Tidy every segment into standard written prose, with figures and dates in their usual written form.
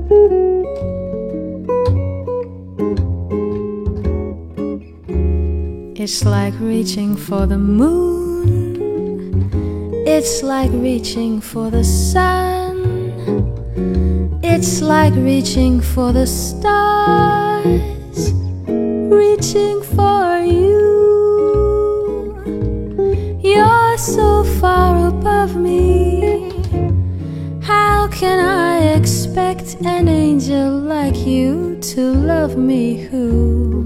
It's like reaching for the moon. It's like reaching for the sun. It's like reaching for the stars, reaching for you. You're so far above me. How can I expect an angel like you to love me who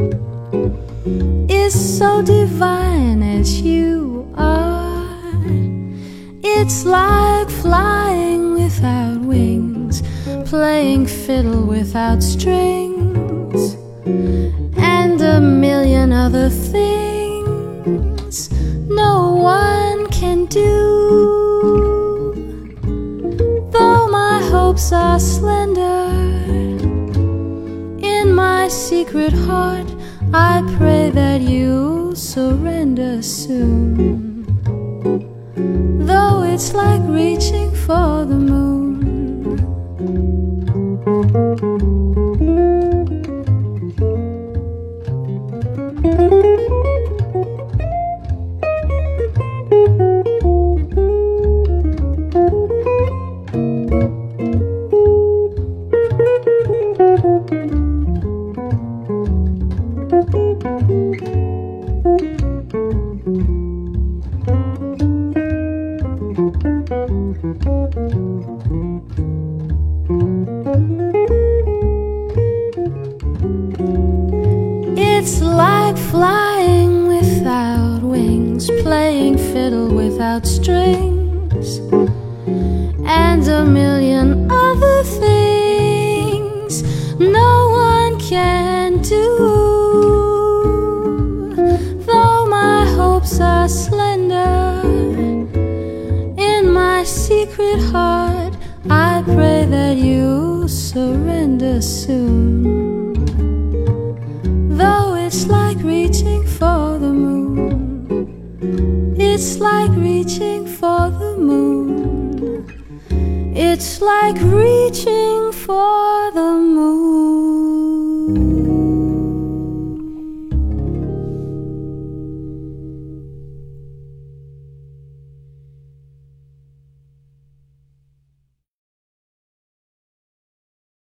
is so divine as you are? It's like flying without wings, playing fiddle without strings, and a million other things no one can do. Though my hopes are slender, in my secret heart I pray that you'll surrender soon. Though it's like reaching for the moon. It's like flying without wings, playing fiddle without strings, and a million other things no one can do. Though my hopes are slender, in my secret heart I pray that you'll surrender soon. Though it's like reaching for the moon, it's like reaching for the moon, it's like reaching for the moon.